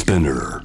Spinner.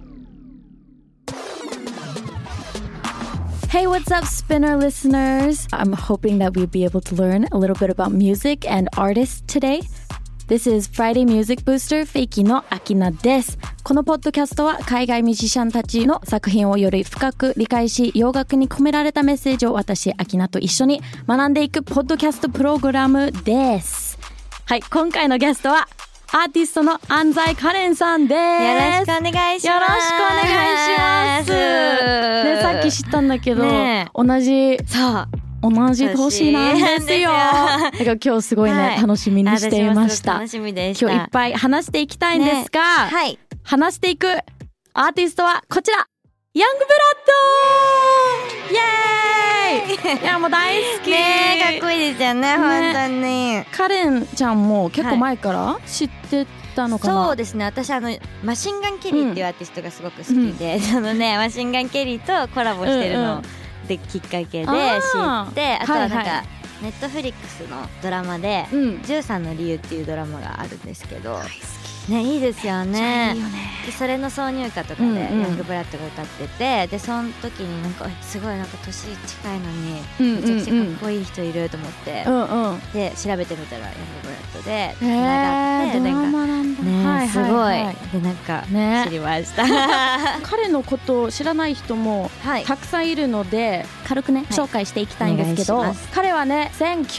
Hey, what's up, Spinner listeners? I'm hoping that we'll be able to learn a little bit about music and artists today. This is Friday Music Booster フェイキーのアキナです。このポッドキャストは海外ミュージシャンたちの作品をより深く理解し、洋楽に込められたメッセージを私、アキナと一緒に学んでいくポッドキャストプログラムです。はい、今回のゲストはアーティストの安西カレンさんです。 よろしくお願いします。 よろしくお願いします。ね、さっき知ったんだけど、ね、同じ年なんですよ。だから今日すごいね、はい、楽しみにしていました。 楽しみでした。 今日いっぱい話していきたいんですが、 はい、 話していくアーティストはこちら、ヤングブラッドイエーイいやもう大好きね、かっこいいですよね、本当に。 カレンちゃんも結構前から知ってたのかな。 そうですね、私マシンガンケリーっていうアーティストがすごく好きで、マシンガンケリーとコラボしてるのできっかけで知って、あとはなんかネットフリックスのドラマで13の理由っていうドラマがあるんですけど、ね、いいですよね。でそれの挿入歌とかでヤングブラッドが歌ってて、でその時になんかすごいなんか年近いのにめちゃくちゃかっこいい人いると思って、で調べてみたらヤングブラッドでつながって、なんかね、すごいでなんか知りました。 彼のことを知らない人もたくさんいるので、軽くね紹介していきたいんですけど、彼はね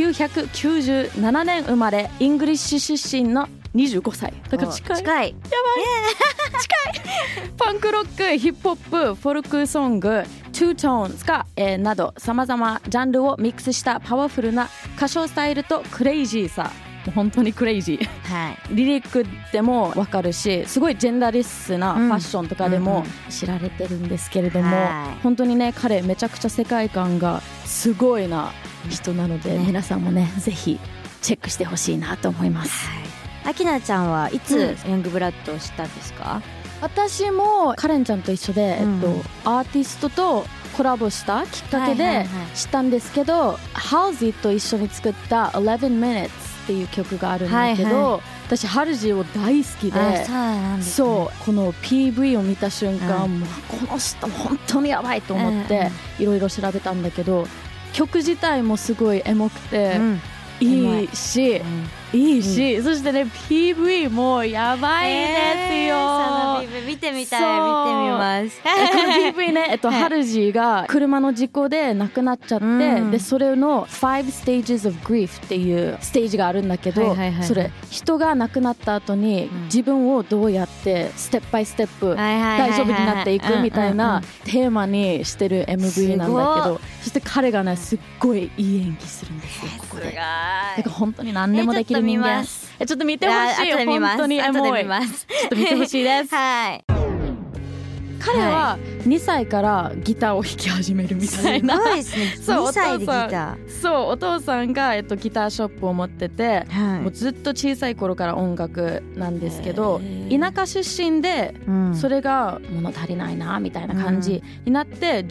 1997年生まれ、イングリッシュ出身の25歳だから近いやばい、近いパンクロック、ヒップホップ、フォルクソング、トゥートーンズか、などさまざまジャンルをミックスしたパワフルな歌唱スタイルとクレイジーさ、もう本当にクレイジー、はい、リリックでも分かるし、すごいジェンダーレスなファッションとかでも知られてるんですけれども、本当にね彼めちゃくちゃ世界観がすごいな人なので、皆さんもねぜひチェックしてほしいなと思います。 アキナちゃんはいつヤングブラッドを知ったんですか？ 私もカレンちゃんと一緒で、アーティストとコラボしたきっかけで知ったんですけど、ハルジーと一緒に作った11 minutes っていう曲があるんだけど、私ハルジーを大好きで、そうこの PV を見た瞬間、もうこの人本当にやばいと思っていろいろ調べたんだけど、曲自体もすごいエモくていいし、そしてね PV もやばいですよ。 その PV 見てみたい、見てみます。 この PV ね、ハルジーが車の事故で亡くなっちゃって、でそれの5 stages of grief っていうステージがあるんだけど、それ人が亡くなった後に自分をどうやってステップバイステップ大丈夫になっていくみたいなテーマにしてる MV なんだけど、そして彼がねすっごいいい演技するんですよ、ここで。だから本当に何でもできる人間。ちょっと見てほしいよ、本当にエモい。ちょっと見てほしいです。はい。彼は2歳からギターを弾き始めるみたいな。 すごいですね。2歳でギター。 そう、お父さんがギターショップを持ってて、もうずっと小さい頃から音楽なんですけど、田舎出身でそれが物足りないなみたいな感じになって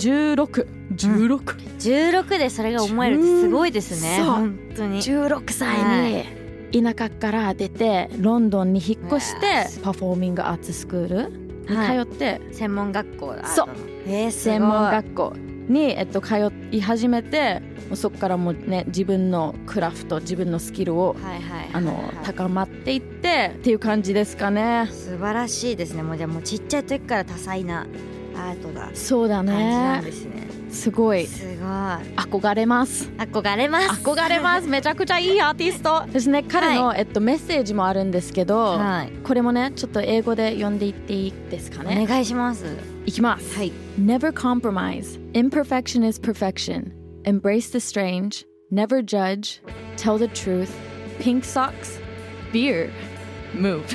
、16 でそれが思えるってすごいですね。本当に 16歳に田舎から出てロンドンに引っ越して、パフォーミングアーツスクールに通って、 専門学校だ。 そう、専門学校に、通い始めて、そこからもうね自分のクラフト、自分のスキルを高まっていってっていう感じですかね。 素晴らしいですね。もうじゃあもうちっちゃい時から多彩なアートがそうだね感じなんですね。 すごい憧れます。めちゃくちゃいいアーティストですね。彼の、メッセージもあるんですけど、これもねちょっと英語で読んでいっていいですかね。 お願いします。 いきます。Never compromise. Imperfection is perfection. Embrace the strange. Never judge. Tell the truth. Pink socks. Beer. Move.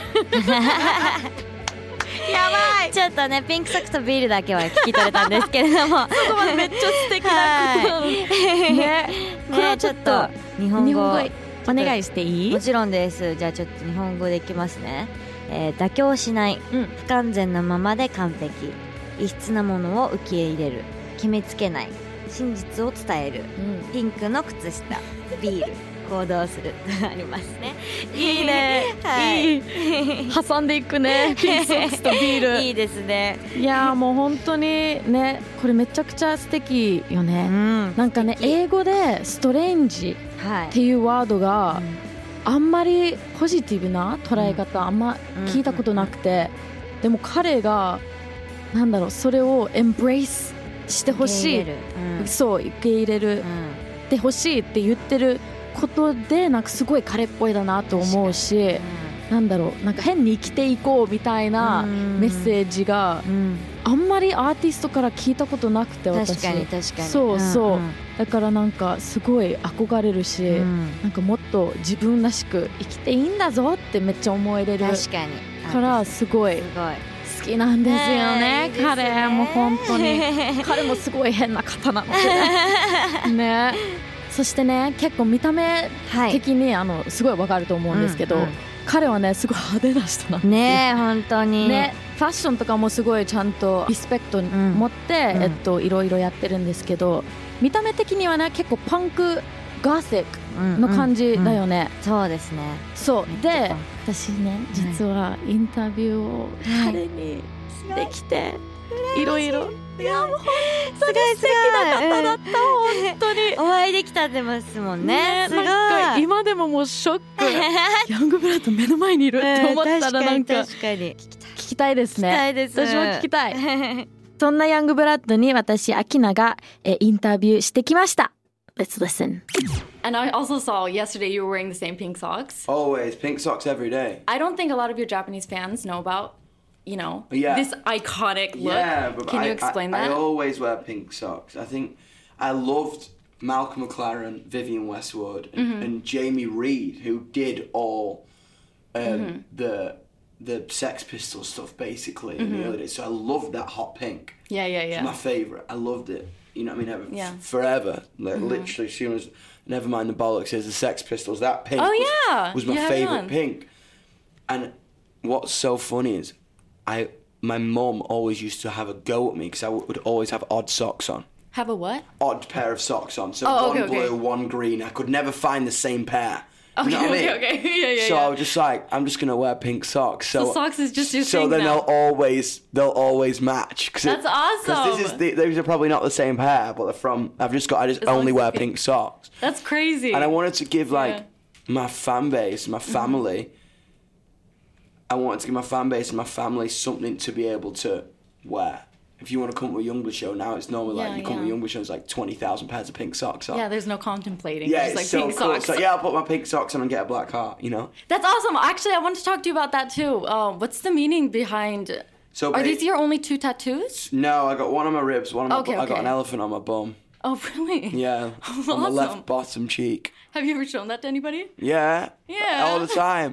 やばい。ちょっとねピンクソックスとビールだけは聞き取れたんですけれども、 そこまでめっちゃ素敵なことね。これはちょっと日本語お願いしていい？ もちろんです。じゃあちょっと日本語でいきますね。妥協しない、不完全なままで完璧、異質なものを受け入れる、決めつけない、真実を伝える、ピンクの靴下、ビール、行動するありますね。 いいね。はい。 挟んでいくねピンクソックスとビールいいですね。 いやもう本当にねこれめちゃくちゃ素敵よね、なんかね英語でストレンジっていうワードがあんまりポジティブな捉え方あんま聞いたことなくて、でも彼がなんだろうそれをエンブレイスしてほしい、そう受け入れるでほしいって言ってることでなんかすごい彼っぽいだなと思うし、なんだろうなんか変に生きていこうみたいなメッセージがあんまりアーティストから聞いたことなくて、私確かに確かにそうそう、だからなんかすごい憧れるし、なんかもっと自分らしく生きていいんだぞってめっちゃ思えれるからすごい好きなんですよね、彼も本当に彼もすごい変な方なのでねそしてね結構見た目的に、すごいわかると思うんですけど、彼はねすごい派手な人なんですよね、本当にね。ファッションとかもすごいちゃんとリスペクトに持って、いろいろやってるんですけど、見た目的にはね結構パンクガーセックの感じだよね、 そうですね。 そうで私ね実はインタビューを彼にできて、いろいろいやもう本当に素敵な方だった、本当にお会いできたってますもんね。すごいなんか今でももうショックヤングブラッド目の前にいるって思ったらなんか聞きたいですね。私も聞きたいそんなヤングブラッドに私アキナがインタビューしてきました。 Let's listen. And I also saw yesterday you were wearing the same pink socks. Always pink socks every day. I don't think a lot of your Japanese fans know about yeah. this iconic look. Yeah, but Can you explain that? I always wear pink socks. I think I loved Malcolm McLaren, Vivienne Westwood, and Jamie Reid, who did all the Sex Pistols stuff basically in the early days. So I loved that hot pink. Yeah. It's my favourite. I loved it. You know what I mean? Forever. Like literally, as soon as Nevermind the Bollocks is the Sex Pistols, that pink was my favourite pink. And what's so funny is my mum always used to have a go at me because I would always have odd socks on. Have a what? Odd pair of socks on. So one blue, one green. I could never find the same pair. You know what I mean? Okay. Yeah. So I was just like, I'm just gonna wear pink socks. So socks is just your thing. So then now. they'll always match. That's awesome. Because these are probably not the same pair, but they're from. I just only wear pink socks. That's crazy. And I wanted to give my fan base, my family. I wanted to give my fan base and my family something to be able to wear. If you want to come to a Youngblood show now, it's normally you come to a Youngblood show, it's like 20,000 pairs of pink socks on. Yeah, there's no contemplating. Yeah, just it's like so pink cool. socks. So yeah, I'll put my pink socks on and get a black heart, you know? That's awesome. Actually, I want to talk to you about that too. What's the meaning behind... So are these your only 2 tattoos? No, I got one on my ribs, one on my I got an elephant on my bum. Oh, really? Yeah, awesome. On my left bottom cheek. Have you ever shown that to anybody? Yeah. Yeah. All the time.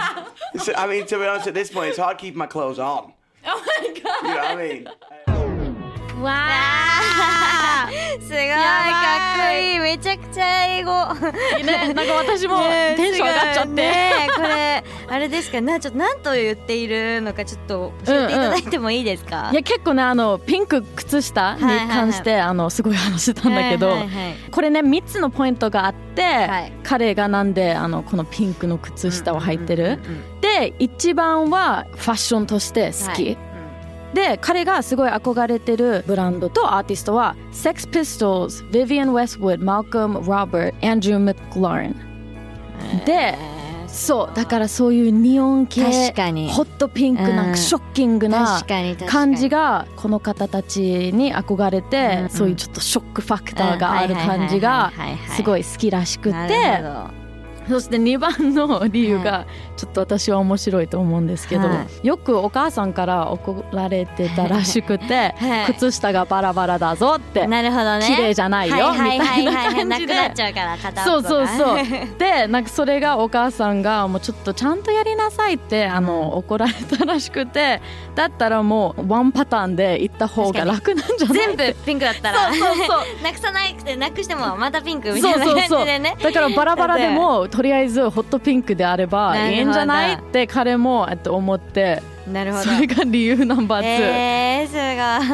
I mean, to be honest, at this point, it's hard keeping my clothes on. Oh my god. You know what I mean? わあすごいかっこいい、めちゃくちゃ英語ね、なんか私もテンション上がっちゃって、 ね、これあれですか、ちょっと何と言っているのかちょっと教えていただいてもいいですか？ いや結構ねピンク靴下に関して、すごい話してたんだけど、これね3つのポイントがあって、彼がなんでこのピンクの靴下を履いてる、で一番はファッションとして好き、で彼がすごい憧れてるブランドとアーティストは Sex Pistols, Vivienne Westwood, Malcolm Robert, Andrew McLaren で、そうだからそういうニオン系ホットピンクなショッキングな感じがこの方たちに憧れて、そういうちょっとショックファクターがある感じがすごい好きらしくて、そして2番の理由がちょっと私は面白いと思うんですけど、よくお母さんから怒られてたらしくて、靴下がバラバラだぞって、 なるほどね、 綺麗じゃないよみたいな感じで、 なくなっちゃうから片そうでなんかそれがお母さんがもうちょっとちゃんとやりなさいって怒られたらしくて、だったらもうワンパターンで行った方が楽なんじゃない全部ピンクだったらなくさなくてなくしてもまたピンクみたいな感じでね、 だからバラバラでもとりあえずホットピンクであればいいんじゃないって彼も思って、 なるほど、 それが理由ナンバー2、 すごい。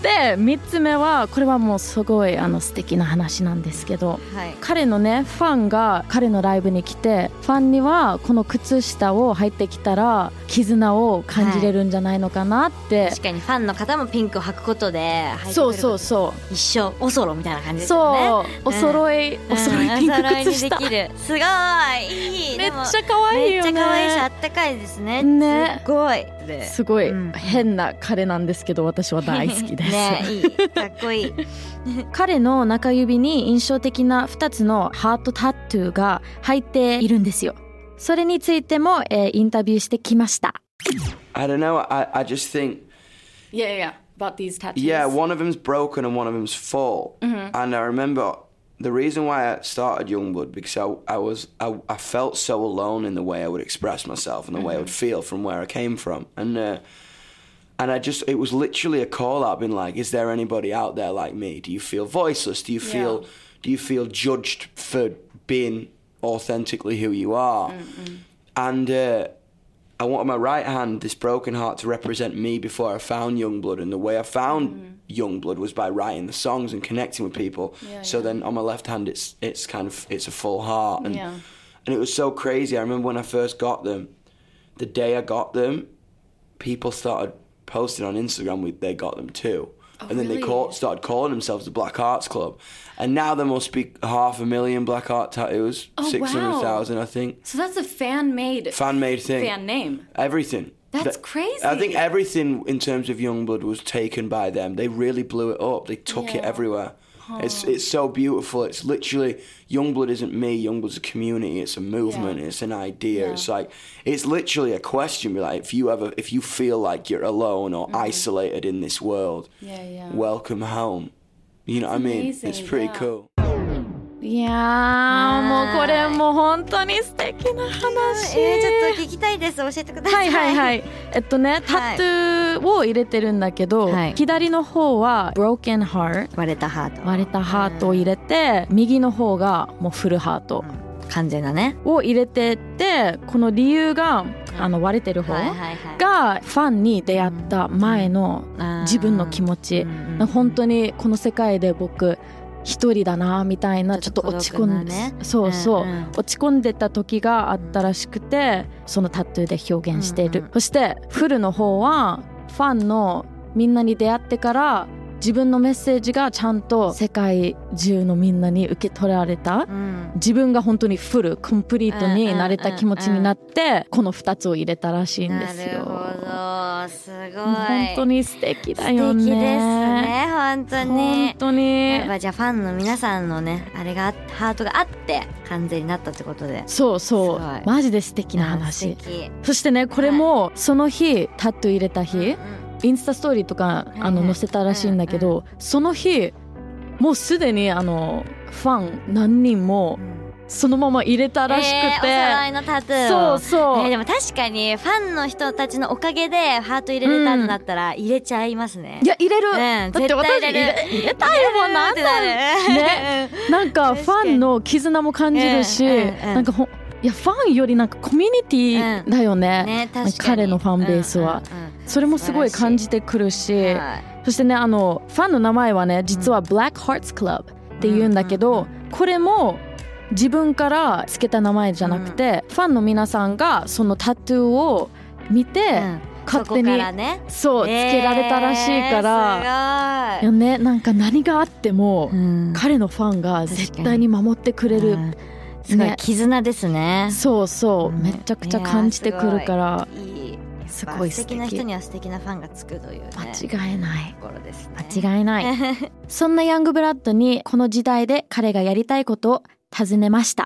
で3つ目はこれはもうすごい素敵な話なんですけど、彼のねファンが彼のライブに来て、ファンにはこの靴下を履いてきたら絆を感じれるんじゃないのかなって、 確かにファンの方もピンクを履くことで履いてくれる、 そう一生おそろみたいな感じですよね。 そう、お揃いピンク靴下、 できる。すごいいい。 めっちゃ可愛いよね。 めっちゃ可愛いしあったかいですね。すごい変な彼なんですけど、私は大好きです。 ね、いい、かっこいい。 彼の中指に印象的な2つのハートタトゥーが入っているんですよ。それについても、インタビューしてきました。 I don't know. I just think. Yeah. About these tattoos. Yeah, one of them's broken and one of them's full. And I remember the reason why I started Youngblood because I felt so alone in the way I would express myself and the way I would feel from where I came from. And it was literally a call out, being like, is there anybody out there like me? Do you feel voiceless? Do you feel judged for being authentically who you are? And I wanted my right hand, this broken heart, to represent me before I found Youngblood. And the way I found Youngblood was by writing the songs and connecting with people. So then on my left hand, it's a full heart. And it was so crazy. I remember when I first got them, the day I got them, people started posting on Instagram they got them too. And then they started calling themselves the Black Hearts Club. And now there must be 500,000 Black Heart tattoos. 600,000, I think. So that's a fan-made thing. Fan name. Everything. That's crazy. I think everything in terms of Youngblood was taken by them. They really blew it up. They took it everywhere. It's so beautiful. It's literally, Youngblood isn't me. Youngblood's a community. It's a movement. It's an idea. It's like, it's literally a question. Like, if you feel like you're alone or isolated in this world, welcome home. You know what I mean? It's pretty cool. いやー、もうこれも本当に素敵な話。 ちょっと聞きたいです。教えてください。 はい。タトゥーを入れてるんだけど、左の方は broken heart 割れたハートを入れて、右の方がもうフルハート、 完全なねを入れてって、この理由が割れてる方がファンに出会った前の自分の気持ち、本当にこの世界で僕一人だなみたいな、ちょっと落ち込んで、落ち込んでた時があったらしくて、そのタトゥーで表現している。そしてフルの方はファンのみんなに出会ってから自分のメッセージがちゃんと世界中のみんなに受け取られた、自分が本当にフルコンプリートになれた気持ちになって、この2つを入れたらしいんですよ。 なるほど、すごい。 本当に素敵だよね。 素敵ですね、本当に。やっぱじゃあファンの皆さんのね、あれがハートがあって完全になったってことで。 そうマジで素敵な話。そしてね、これもその日タトゥー入れた日、インスタストーリーとか載せたらしいんだけど、その日もうすでにファン何人もそのまま入れたらしくて、 お揃いのタトゥーを。 そう、 でも確かにファンの人たちのおかげでハート入れれたんだったら入れちゃいますね。 いや入れる、だって私入れたいもん。なんだね、なんかファンの絆も感じるし、なんかいやファンよりなんかコミュニティだよね、彼のファンベースは、それもすごい感じてくるし、そしてね、ファンの名前はね、実は Black Hearts Club って言うんだけど、これも自分からつけた名前じゃなくて、ファンの皆さんがそのタトゥーを見て、勝手につけられたらしいから、よね、なんか何があっても、彼のファンが絶対に守ってくれる、 すごい絆ですね。 そうめちゃくちゃ感じてくるから、すごい素敵な人には素敵なファンがつくというね、 間違いないところですね。 間違いないそんなヤングブラッドにこの時代で彼がやりたいことを尋ねました。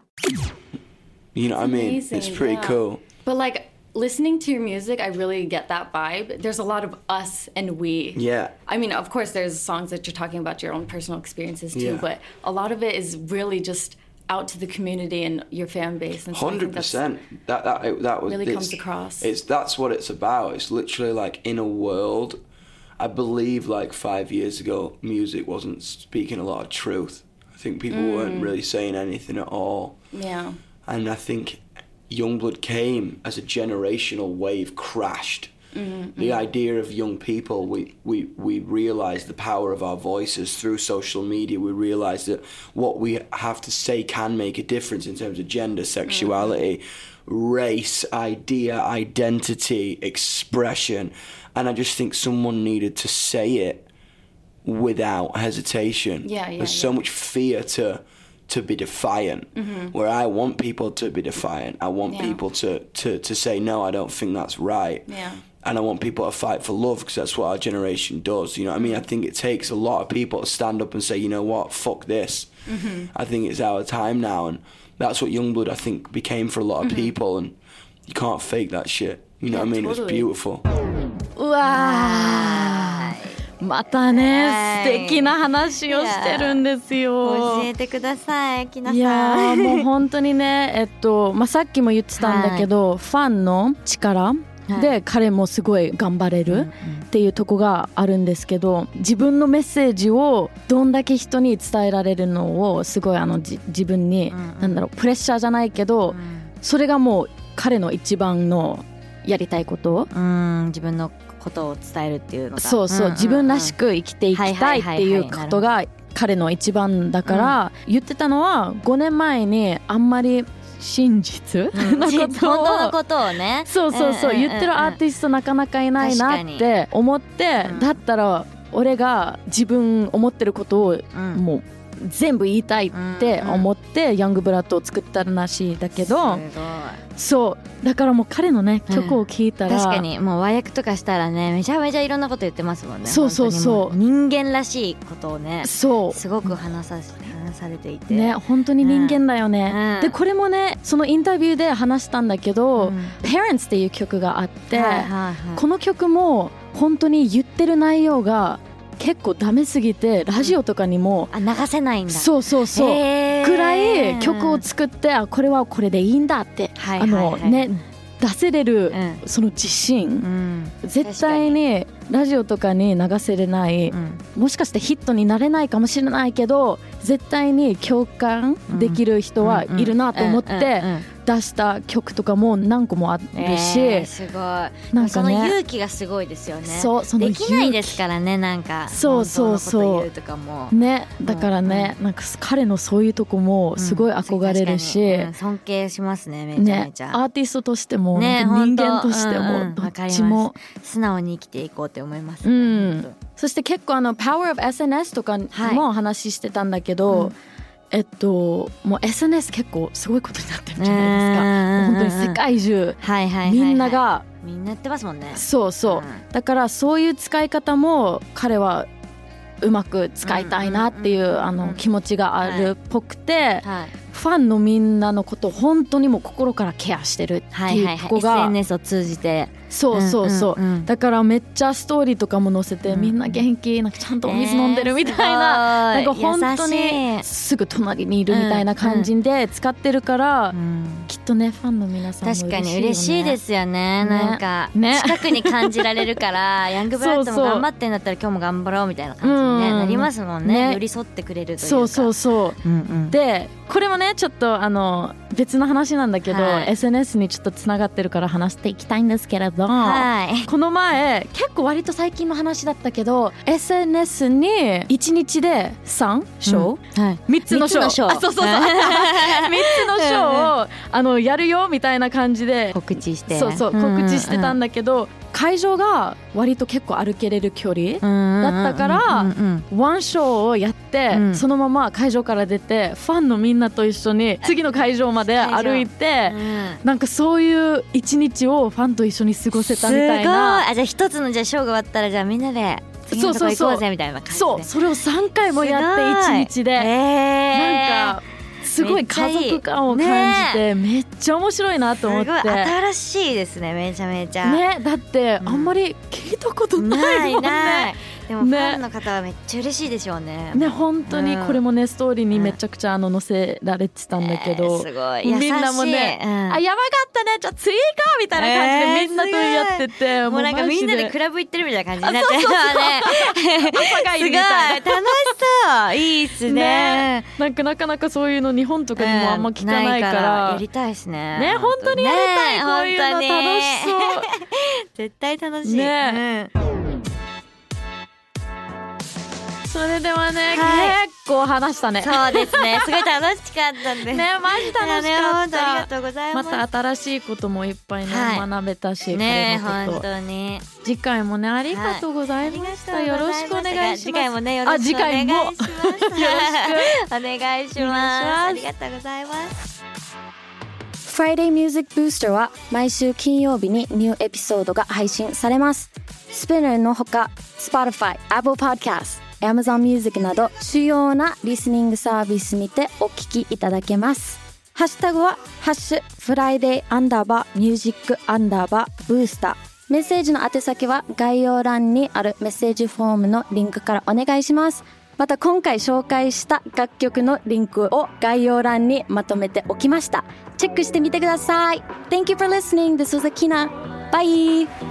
You know what I mean? It's pretty cool. But like listening to your music, I really get that vibe. There's a lot of us and we. Yeah. I mean, of course there's songs that you're talking about your own personal experiences too, but a lot of it is really just out to the community and your fan base. And so 100%. That was really comes across. That's what it's about. It's literally like in a world. I believe like 5 years ago, music wasn't speaking a lot of truth. I think people weren't really saying anything at all. Yeah. And I think Youngblood came as a generational wave crashed. The idea of young people, we realize the power of our voices through social media. We realize that what we have to say can make a difference in terms of gender, sexuality, race, idea, identity, expression. And I just think someone needed to say it without hesitation. There's so much fear to be defiant, where I want people to be defiant. I want people to say, no, I don't think that's right. And I want people to fight for love, because that's what our generation does. You know what I mean? I think it takes a lot of people to stand up and say, you know what, fuck this. I think it's our time now. And that's what Youngblood, I think, became for a lot of people. And you can't fake that shit. You know what I mean? Totally. It's beautiful. うわー、またね、素敵な話をしてるんですよ。 教えてください、きなさん。 いやもう本当にね、さっきも言ってたんだけど、ファンの力で彼もすごい頑張れるっていうとこがあるんですけど、自分のメッセージをどんだけ人に伝えられるのをすごい自分に、なんだろう、プレッシャーじゃないけど、それがもう彼の一番のやりたいこと、自分のことを伝えるっていうのが、そうそう、自分らしく生きていきたいっていうことが彼の一番だから、言ってたのは5年前にあんまり真実のことを、 本当のことをね、 そうそうそう、言ってるアーティストなかなかいないなって思って、だったら俺が自分思ってることをもう全部言いたいって思ってヤングブラッドを作ったらしいだけど、そうだからもう彼のね曲を聴いたら、 確かにもう和訳とかしたらね、めちゃめちゃいろんなこと言ってますもんね。 そうそうそう、 人間らしいことをね、 そうすごく話されていてね、本当に人間だよね、でこれもね、そのインタビューで話したんだけど、Parents っていう曲があって、この曲も本当に言ってる内容が結構ダメすぎてラジオとかにも、 流せないんだ。 そうそうそう、くらい曲を作って、これはこれでいいんだって、ね、出せれる、その自信、絶対にラジオとかに流せれない、もしかしてヒットになれないかもしれないけど、絶対に共感できる人はいるなと思って出した曲とかも何個もあるし、 すごい、なんかね、その勇気がすごいですよね。そう、そのできないですからね、なんかそうそうそう、 言うとかもね、だからね、なんか彼のそういうとこもすごい憧れるし、 尊敬しますね、めちゃめちゃ、 アーティストとしても、人間としても、どっちも素直に生きていこうって思います、 そして結構Power of SNS とかも話してたんだけど、もう SNS 結構すごいことになってるじゃないですか。本当に世界中、みんながみんなやってますもんね。 そうそう、だからそういう使い方も彼はうまく使いたいなっていう気持ちがあるっぽくて、ファンのみんなのことを本当にもう心からケアしてるっていうとこが、 SNS を通じて、 そうそうそう、だからめっちゃストーリーとかも載せて、みんな元気、なんかちゃんとお水飲んでるみたいな、なんか本当にすぐ隣にいるみたいな感じで使ってるから、きっとね、ファンの皆さんも嬉しいよね。 確かに嬉しいですよね、なんか近くに感じられるからヤングブラッドも頑張ってんだったら今日も頑張ろうみたいな感じに、なりますもんね。寄り添ってくれるというか。 そうそうそう、でこれもね、ちょっと別の話なんだけど、SNS にちょっとつながってるから話していきたいんですけれど、この前結構割と最近の話だったけど、 SNS に1日で3ショー、3つのショー、そうそうそう3つのショーをやるよみたいな感じで告知して、 そうそう告知してたんだけど、会場が割と結構歩けれる距離だったから、ワンショーをやって、そのまま会場から出てファンのみんなと一緒に次の会場まで歩いて、なんかそういう一日をファンと一緒に過ごせたみたいな。 すごい。じゃあ一つのショーが終わったら、じゃあみんなで次のとこ行こうぜみたいな感じで、 そう、それを3回もやって一日で、なんかすごい家族感を感じて、めっちゃ面白いなと思って。 すごい新しいですね、めちゃめちゃね。だってあんまり聞いたことないもんね。 でもファンの方はめっちゃ嬉しいでしょうね。 ね、本当にこれもね、ストーリーにめちゃくちゃ載せられてたんだけど、 すごい優しい。 みんなもね、あ、やばかったね、じゃあ次行こうみたいな感じでみんなとやってて、 もうなんかみんなでクラブ行ってるみたいな感じになってるね。 朝がいいみたいな。 すごい楽しそう。いいっすね。 なんかなかなかそういうの日本とかにもあんま聞かないから、 やりたいですね。 ね、本当にやりたい、こういうの楽しそう。 絶対楽しいね、それではね、結構話したね。 そうですね、すごい楽しかったんでね、マジ楽しかった。 ありがとうございます。 また新しいこともいっぱいね、学べたしね、本当に次回もね、ありがとうございました。よろしくお願いします。 次回もね、よろしくお願いします。よろしくお願いします。ありがとうございます。 Friday Music Booster は毎週金曜日にニューエピソードが配信されます。Spinner のほか Spotify、Apple Podcast、Amazon Music など主要なリスニングサービスにてお聞きいただけます。ハッシュタグはハッシュ Friday_Music_Booster。メッセージの宛先は概要欄にあるメッセージフォームのリンクからお願いします。また今回紹介した楽曲のリンクを概要欄にまとめておきました。チェックしてみてください。Thank you for listening. This was Akina. Bye!